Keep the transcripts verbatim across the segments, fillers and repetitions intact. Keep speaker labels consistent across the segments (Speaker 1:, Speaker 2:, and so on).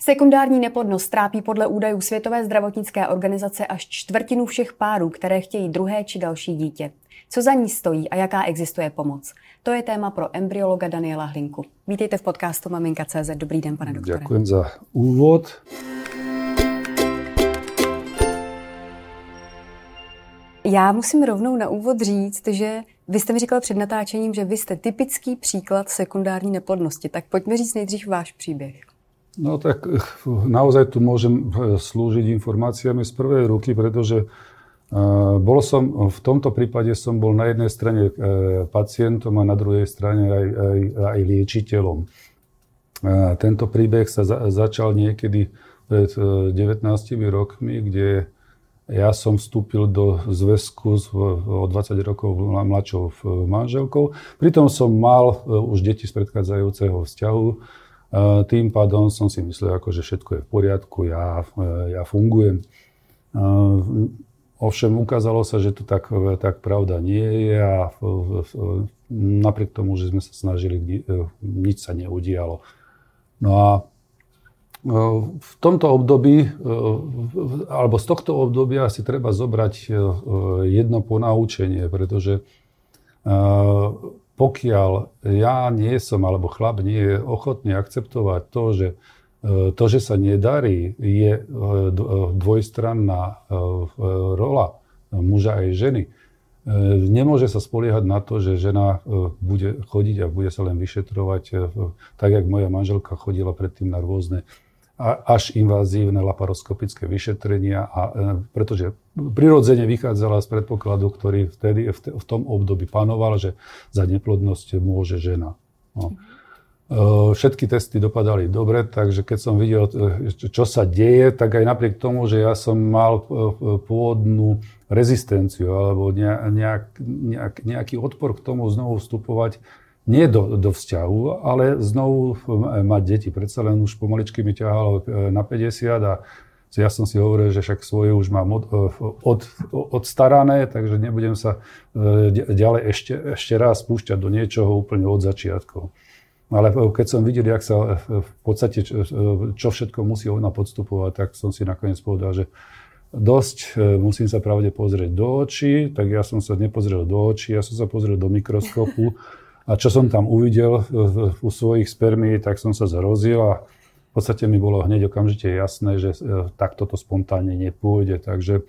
Speaker 1: Sekundární neplodnost trápí podle údajů Světové zdravotnické organizace až čtvrtinu všech párů, které chtějí druhé či další dítě. Co za ní stojí a jaká existuje pomoc? To je téma pro embryologa Daniela Hlinku. Vítejte v podcastu Maminka tečka cé zet. Dobrý den, pane doktore.
Speaker 2: Ďakujem za úvod.
Speaker 1: Já musím rovnou na úvod říct, že vy jste mi říkal před natáčením, že vy jste typický příklad sekundární neplodnosti. Tak pojďme říct nejdřív váš příběh.
Speaker 2: No tak naozaj tu môžem slúžiť informáciami z prvej ruky, pretože bol som, v tomto prípade som bol na jednej strane pacientom a na druhej strane aj, aj, aj liečiteľom. Tento príbeh sa za, začal niekedy pred devätnástimi rokmi, kde ja som vstúpil do zväzku s o dvadsať rokov mladšou manželkou. Pritom som mal už deti z predchádzajúceho vzťahu. Tým pádom som si myslel, ako, že všetko je v poriadku, ja, ja fungujem. Ovšem ukázalo sa, že to tak, tak pravda nie je a napriek tomu, že sme sa snažili, nič sa neudialo. No a v tomto období, alebo z tohto obdobia si treba zobrať jedno ponaučenie, pretože pokiaľ ja nie som, alebo chlap nie je ochotný akceptovať to, že to, že sa nedarí, je dvojstranná rola muža aj ženy. Nemôže sa spoliehať na to, že žena bude chodiť a bude sa len vyšetrovať, tak jak moja manželka chodila predtým na rôzne až invazívne laparoskopické vyšetrenia, a, pretože prirodzene vychádzala z predpokladu, ktorý vtedy v tom období panoval, že za neplodnosť môže žena. No. Všetky testy dopadali dobre, takže keď som videl, čo sa deje, tak aj napriek tomu, že ja som mal pôvodnú rezistenciu alebo nejak, nejak, nejaký odpor k tomu znovu vstupovať, nie do, do vzťahu, ale znovu mať deti. Predsa len už pomaličky mi ťahalo na päťdesiat a ja som si hovoril, že však svoje už mám od, od, odstarané, takže nebudem sa ďalej ešte, ešte raz spúšťať do niečoho úplne od začiatkov. Ale keď som videl, jak sa v podstate, čo všetko musí ona podstupovať, tak som si nakoniec povedal, že dosť, musím sa pravde pozrieť do očí, tak ja som sa nepozrel do očí, ja som sa pozrel do mikroskopu. A čo som tam uvidel u svojich spermií, tak som sa zrozil a v podstate mi bolo hneď okamžite jasné, že takto to spontánne nepôjde. Takže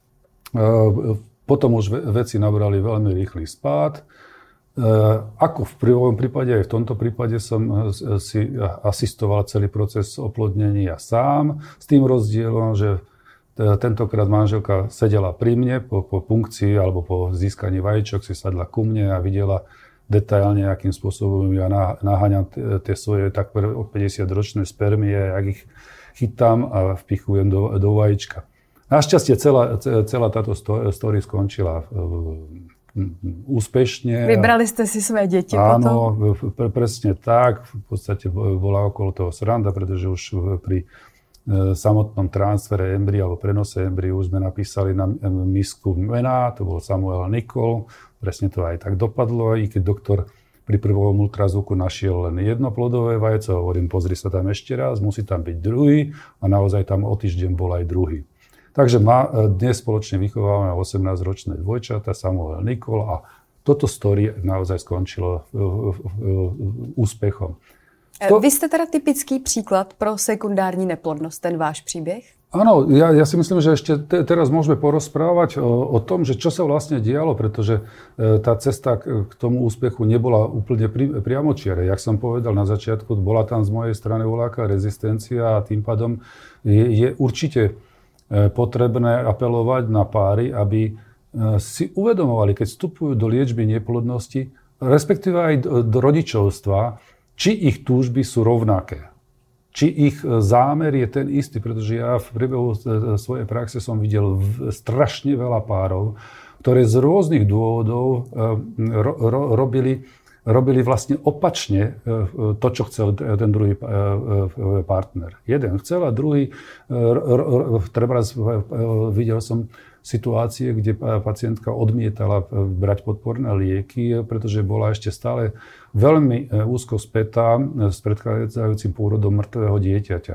Speaker 2: potom už veci nabrali veľmi rýchly spád. Ako v prvom prípade, aj v tomto prípade som si asistoval celý proces oplodnenia sám, s tým rozdielom, že tentokrát manželka sedela pri mne po, po punkcii alebo po získaní vajíčok, si sadla ku mne a videla detailne, akým spôsobom ja naháňam tie svoje takmer päťdesiatročné spermie, jak ich chytám a vpichujem do, do vajíčka. Našťastie celá, celá táto story skončila úspešne.
Speaker 1: Vybrali ste si svoje deti
Speaker 2: potom? Áno, pre, presne tak. V podstate bola okolo toho sranda, pretože už pri samotnom transfere embria alebo prenose embria už sme napísali na misku mená, to bol Samuel Nicol. Presne to aj tak dopadlo, i keď doktor pri prvom ultrazvuku našiel len jedno plodové vajco, hovorím, pozri sa tam ešte raz, musí tam byť druhý a naozaj tam o týždeň bol aj druhý. Takže ma, dnes spoločne vychovávame osemnásťročné dvojčata, Samuel Nicol, a toto story naozaj skončilo úspechom.
Speaker 1: To... Vy jste teda typický příklad pro sekundární neplodnost, ten váš příběh?
Speaker 2: Áno, ja, ja si myslím, že ešte te, teraz môžeme porozprávať o, o tom, že čo sa vlastne dialo, pretože e, tá cesta k, k tomu úspechu nebola úplne pri, priamočiare. Jak som povedal na začiatku, bola tam z mojej strany voľaká rezistencia a tým pádom je, je určite e, potrebné apelovať na páry, aby e, si uvedomovali, keď vstupujú do liečby neplodnosti, respektíve aj do, do rodičovstva, či ich túžby sú rovnaké. Či ich zámer je ten istý, pretože ja v priebehu svojej praxe som videl strašne veľa párov, ktoré z rôznych dôvodov ro, ro, robili, robili vlastne opačne to, čo chcel ten druhý partner. Jeden chcel a druhý, treba videl som situácie, kde pacientka odmietala brať podporné lieky, pretože bola ešte stále veľmi úzko spätá s predchádzajúcim pôrodom mŕtvého dieťaťa.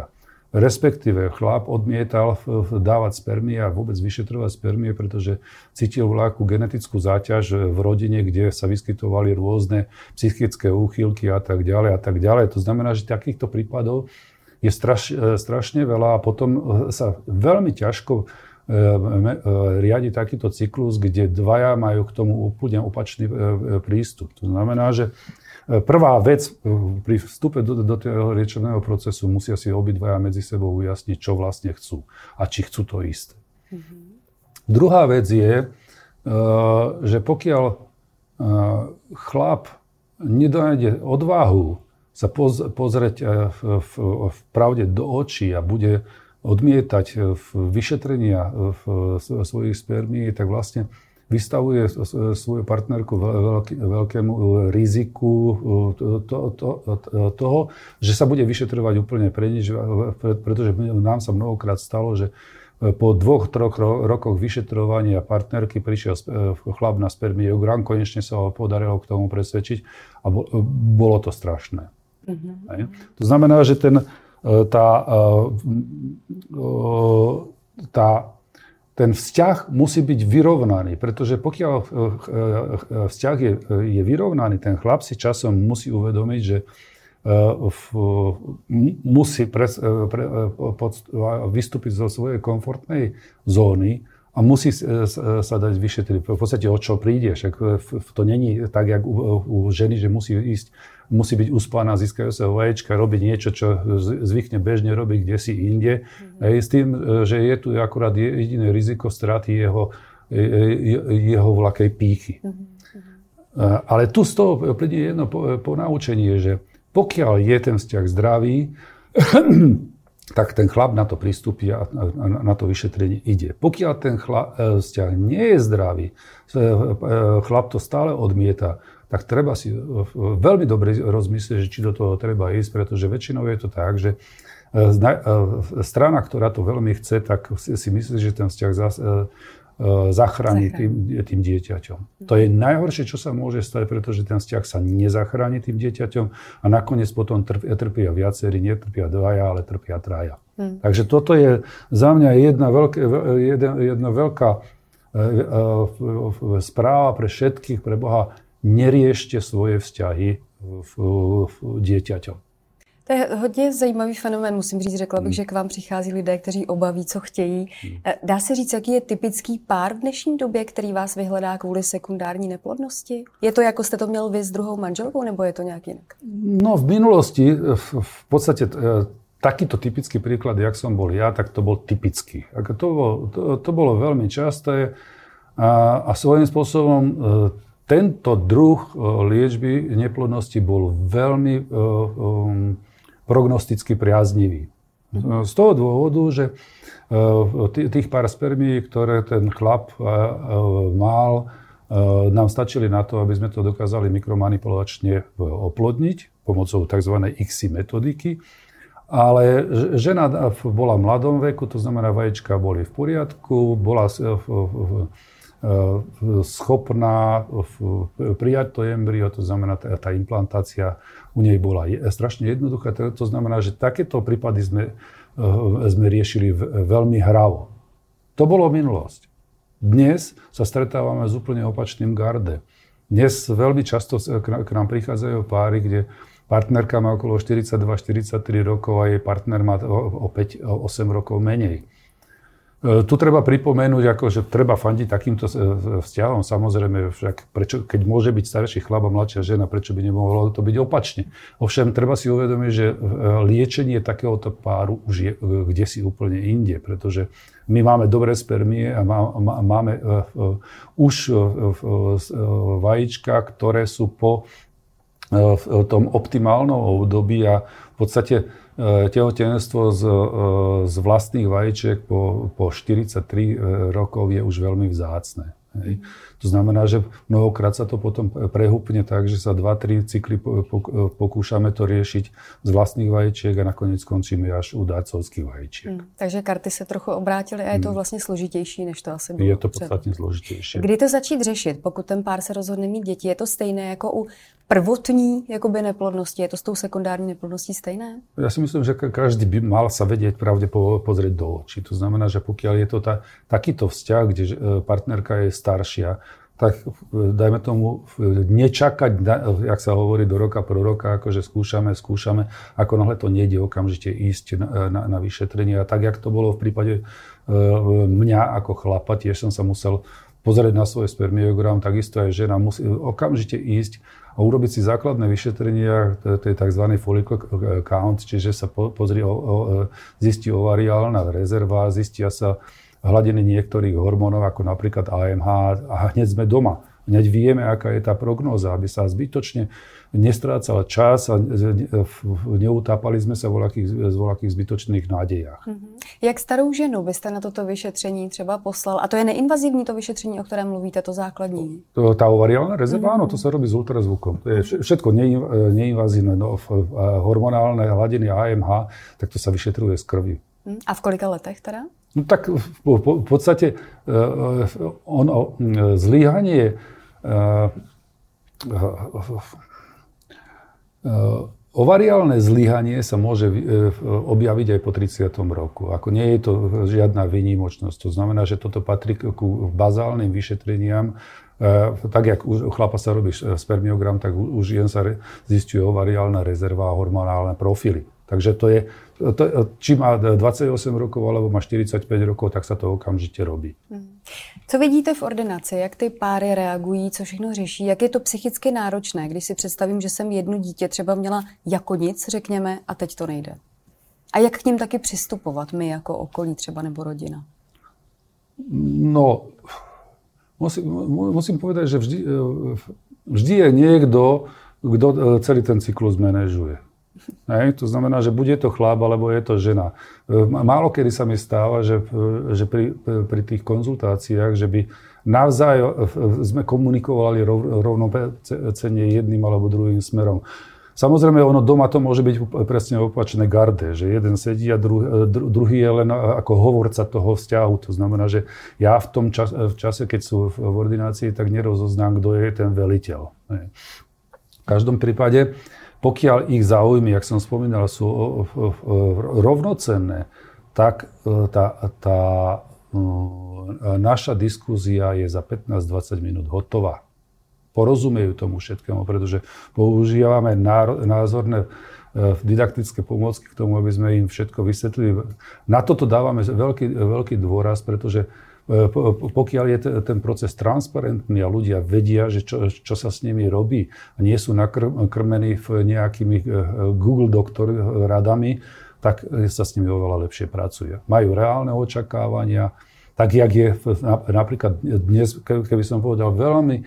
Speaker 2: respektíve chlap odmietal dávať spermie a vôbec vyšetrovať spermie, pretože cítil voľakú genetickú záťaž v rodine, kde sa vyskytovali rôzne psychické úchylky a tak ďalej a tak ďalej. To znamená, že takýchto prípadov je straš, strašne veľa a potom sa veľmi ťažko riadi takýto cyklus, kde dvaja majú k tomu úplne opačný prístup. To znamená, že prvá vec pri vstupe do, do toho liečebného procesu musia si obidvaja medzi sebou ujasniť, čo vlastne chcú a či chcú to isté. Mm-hmm. Druhá vec je, že pokiaľ chlap nedonájde odvahu sa pozrieť v, v pravde do očí a bude odmietať vyšetrenia svojich spermií, tak vlastne vystavuje svoju partnerku veľký, veľkému riziku to, to, to, toho, že sa bude vyšetrovať úplne pre nič, pretože nám sa mnohokrát stalo, že po dvoch, troch rokoch vyšetrovania partnerky prišiel chlap na spermiogram, konečne sa ho podarilo k tomu presvedčiť a bolo to strašné. Mm-hmm. To znamená, že ten, tá, tá Ten vzťah musí byť vyrovnaný, pretože pokiaľ vzťah je, je vyrovnaný, ten chlap si časom musí uvedomiť, že v, musí pre, pre, pod, vystúpiť zo svojej komfortnej zóny a musí sa dať vyšetriť. V podstate o čo príde, však to není tak, jak u, u ženy, že musí ísť, musí byť uspaná, získajú sa vaječka, robiť niečo, čo zvykne bežne robiť kdesi inde. Mm-hmm. Aj s tým, že je tu akurát jediné riziko straty jeho, jeho vlakej pýchy. Mm-hmm. Ale tu z toho plynie jedno ponaučenie, že pokiaľ je ten vzťah zdravý, tak ten chlap na to pristúpi a na to vyšetrenie ide. Pokiaľ ten chlap, vzťah nie je zdravý, chlap to stále odmieta, tak treba si veľmi dobre rozmyslieť, že či do toho treba ísť, pretože väčšinou je to tak, že strana, ktorá to veľmi chce, tak si myslí, že ten vzťah zachráni tým, tým dieťaťom. To je najhoršie, čo sa môže stať, pretože ten vzťah sa nezachráni tým dieťaťom a nakoniec potom trpia viacerí, netrpia dvaja, ale trpia traja. Hmm. Takže toto je za mňa jedna, veľké, jedna, jedna veľká správa pre všetkých, pre Boha. Neriešte svoje vzťahy v, v dieťaťom.
Speaker 1: To je hodně zajímavý fenomén, musím říct, řekla bych, hmm. že k vám přichází lidé, kteří obaví, co chtějí. Hmm. Dá se říct, jaký je typický pár v dnešní době, který vás vyhledá kvůli sekundární neplodnosti? Je to, jako jste to měl vy s druhou manželkou, nebo je to nějak jinak?
Speaker 2: No v minulosti, v, v podstate takýto typický príklad, jak som bol ja, tak to bol typický. To bolo, to, to bolo veľmi časté a, a svojím spôsobom tento druh liečby neplodnosti bol veľmi um, prognosticky priaznivý. Z toho dôvodu, že tých pár spermií, ktoré ten chlap mal, nám stačili na to, aby sme to dokázali mikromanipulačne oplodniť pomocou tzv. í ká cé metodiky. Ale žena bola v mladom veku, to znamená, vajíčka boli v poriadku, bola schopná prijať to embryo, to znamená, tá implantácia u nej bola strašne jednoduchá. To znamená, že takéto prípady sme, sme riešili veľmi hravo. To bolo minulosť. Dnes sa stretávame s úplne opačným garde. Dnes veľmi často k nám prichádzajú páry, kde partnerka má okolo štyridsaťdva štyridsaťtri rokov a jej partner má o päť osem rokov menej. Tu treba pripomenúť, ako, že treba fandiť takýmto vzťahom. Samozrejme, však prečo, keď môže byť starší chlap a mladšia žena, prečo by nemohlo to byť opačne? Ovšem, treba si uvedomiť, že liečenie takéhoto páru už je kdesi úplne inde, pretože my máme dobré spermie a máme už vajíčka, ktoré sú po tom optimálnom období a v podstate tehotenstvo z, z vlastných vajíček po, po štyridsaťtri rokov je už veľmi vzácne. Hej. To znamená, že mnohokrát sa to potom prehúpne tak, že sa dva tri cykly pokúšame to riešiť z vlastných vajíčiek a nakoniec skončíme až u dárcovských vajíčiek. Hmm,
Speaker 1: takže karty se trochu obrátily a je to vlastně složitější, než to asi bylo.
Speaker 2: Je to podstatně složitější.
Speaker 1: Kdy to začít řešit, pokud ten pár se rozhodne mít děti? Je to stejné jako u prvotní jakoby neplodnosti? Je to s tou sekundární neplodností stejné?
Speaker 2: Ja si myslím, že každý by mal sa vedieť pravde pozrieť do očí. To znamená, že pokiaľ je to ta, takýto vzťah, kde partnerka je staršia, tak dajme tomu nečakať, jak sa hovorí, do roka pro roka, akože skúšame, skúšame, ako náhle to nejde, okamžite ísť na, na, na vyšetrenie. A tak, jak to bolo v prípade mňa ako chlapa, tiež som sa musel pozrieť na svoj spermiogram, takisto aj žena musí okamžite ísť a urobiť si základné vyšetrenia, to je tzv. Follicle count, čiže sa pozrie, zistí ovariálna rezerva, zistia sa hladiny niektorých hormónov, ako napríklad á em há, a hneď sme doma. Hneď vieme, aká je tá prognóza, aby sa zbytočne nestrácal čas a neutápali sme sa v voľakých zbytočných nádejách.
Speaker 1: Mm-hmm. Jak starou ženu byste na toto vyšetření třeba poslal? A to je neinvazivní to vyšetření, o kterém mluvíte, to základní?
Speaker 2: To, tá ovariálna rezerva, mm-hmm. áno, to sa robí s ultrazvukom. To je všetko neinvazívne, no, hormonálne hladiny á em há, tak to sa vyšetruje z krvi.
Speaker 1: A v kolika letech teda?
Speaker 2: No tak v, v podstate ono, zlyhanie ovariálne zlyhanie sa môže objaviť aj po tridsiatom roku. Ako nie je to žiadna výnimočnosť. To znamená, že toto patrí ku bazálnym vyšetreniam. Tak, jak u chlapa sa robí spermiogram, tak u žien sa zisťuje ovariálna rezerva a hormonálne profily. Takže to je, to, či má dvadsaťosem rokov alebo má štyridsaťpäť rokov, tak sa to okamžite robí.
Speaker 1: Co vidíte v ordinaci? Jak ty páry reagují? Co všechno řeší? Jak je to psychicky náročné, když si představím, že jsem jedno dítě třeba měla jako nic, řekněme, a teď to nejde? A jak k ním taky přistupovat my jako okolí třeba nebo rodina?
Speaker 2: No, musím, musím povedať, že vždy, vždy je niekto, kto celý ten cyklus manažuje. Hej, to znamená, že bude to chlap, alebo je to žena. Málo kedy sa mi stáva, že, že pri, pri tých konzultáciách, že by navzájom sme komunikovali rov, rovnocenne jedným alebo druhým smerom. Samozrejme, ono doma to môže byť presne opačné garde, že jeden sedí a druhý, druhý je len ako hovorca toho vzťahu. To znamená, že ja v tom čas, v čase, keď sú v ordinácii, tak nerozoznám, kto je ten veliteľ. Hej. V každom prípade, pokiaľ ich záujmy, jak som spomínal, sú rovnocenné, tak tá, tá naša diskuzia je za pätnásť dvadsať minút hotová. Porozumejú tomu všetkému, pretože používame názorné didaktické pomôcky k tomu, aby sme im všetko vysvetlili. Na toto dávame veľký, veľký dôraz, pretože pokiaľ je ten proces transparentný a ľudia vedia, že čo, čo sa s nimi robí a nie sú nakrmení nejakými Google doktor radami, tak sa s nimi oveľa lepšie pracuje. Majú reálne očakávania, tak jak je napríklad dnes, keby som povedal, veľmi,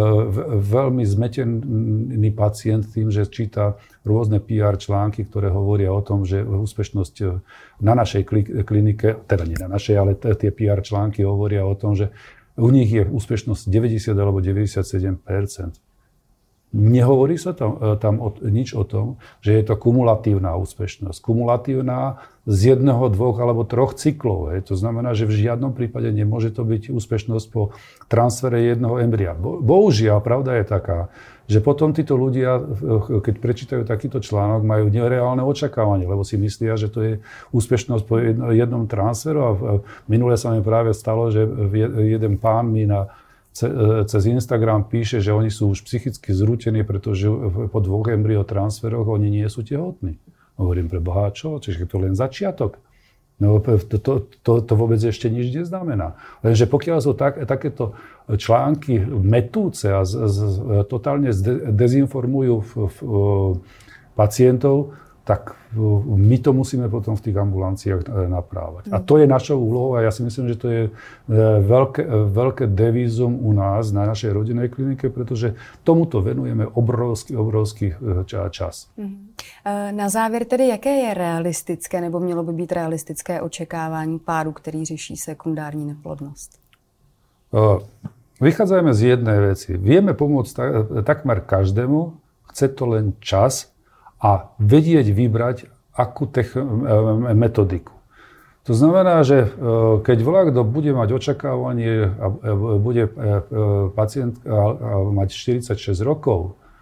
Speaker 2: veľmi zmetený pacient tým, že číta rôzne pé er články, ktoré hovoria o tom, že úspešnosť na našej klinike, teda nie na našej, ale tie pé er články hovoria o tom, že u nich je úspešnosť deväťdesiat alebo deväťdesiatsedem percent. Nehovorí sa tam, tam o, nič o tom, že je to kumulatívna úspešnosť. Kumulatívna z jedného, dvoch alebo troch cyklov. Hej. To znamená, že v žiadnom prípade nemôže to byť úspešnosť po transfere jedného embria. Bo, bohužiaľ, pravda je taká, že potom títo ľudia, keď prečítajú takýto článok, majú nereálne očakávanie, lebo si myslia, že to je úspešnosť po jednom transferu. A minule sa mi práve stalo, že jeden pán mi na cez Instagram píše, že oni sú už psychicky zrútení, pretože po dvoch embryotransferoch oni nie sú tehotní. Hovorím, pre Boha, čo? Čiže to len začiatok. No, to, to, to, to vôbec ešte nič neznamená. Lenže pokiaľ sú tak, takéto články metúce a z, z, totálne dezinformujú v, v, pacientov, tak my to musíme potom v tých ambulanciách naprávať. A to je našou úlohou a ja si myslím, že to je veľké, veľké devízum u nás, na našej rodinnej klinike, pretože tomuto venujeme obrovský, obrovský čas.
Speaker 1: Na závěr tedy, jaké je realistické, nebo mělo by být realistické očekávání páru, který řeší sekundární neplodnost?
Speaker 2: Vychádzajme z jednej veci. Vieme pomôcť takmer každému, chce to len čas a vedieť vybrať akú tech- metodiku. To znamená, že keď voľakto bude mať očakávanie a bude pacient mať štyridsaťšesť rokov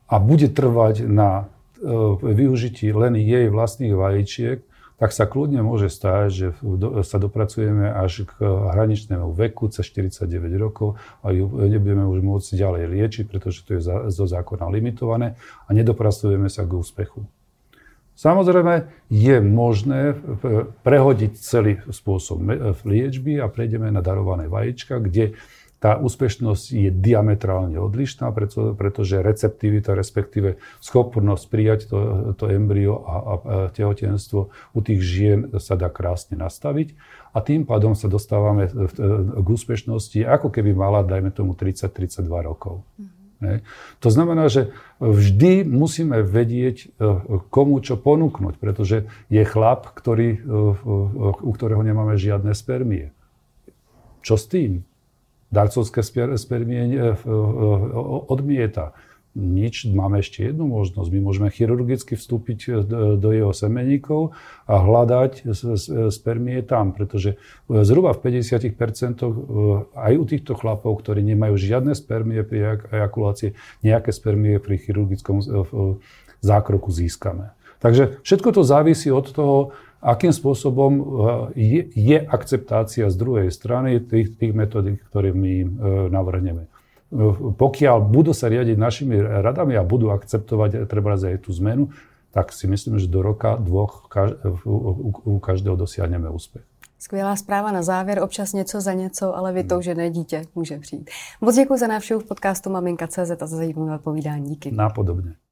Speaker 2: a bude trvať na využití len jej vlastných vajíčiek, tak sa kľudne môže stať, že sa dopracujeme až k hraničnému veku cez štyridsaťdeväť rokov a ju nebudeme už môcť ďalej liečiť, pretože to je zo zákona limitované a nedopracujeme sa k úspechu. Samozrejme, je možné prehodiť celý spôsob liečby a prejdeme na darované vajíčka, kde tá úspešnosť je diametrálne odlišná, preto, pretože receptivita, respektíve schopnosť prijať to, to embryo a, a tehotenstvo u tých žien sa dá krásne nastaviť a tým pádom sa dostávame k úspešnosti, ako keby mala, dajme tomu, tridsať tridsaťdva rokov. Mm-hmm. To znamená, že vždy musíme vedieť, komu čo ponúknuť, pretože je chlap, ktorý, u ktorého nemáme žiadne spermie. Čo s tým? Darcovské spermie odmieta. Nič, máme ešte jednu možnosť. My môžeme chirurgicky vstúpiť do jeho semeníkov a hľadať spermie tam, pretože zhruba v päťdesiat percent aj u týchto chlapov, ktorí nemajú žiadne spermie pri ejakulácii, nejaké spermie pri chirurgickom zákroku získame. Takže všetko to závisí od toho, akým spôsobom je, je akceptácia z druhej strany tých, tých metodík, ktoré my im navrhneme. Pokiaľ budú sa riadiť našimi radami a budú akceptovať treba aj tú zmenu, tak si myslím, že do roka, dvoch u každého dosiahneme úspech.
Speaker 1: Skvělá zpráva na závěr, občas něco za něco, ale vytoužené dítě může přijít. Moc děkuji za návštěvu v podcastu Maminka tečka cé zet a za zajímavé povídání. Díky.
Speaker 2: Nápodobně.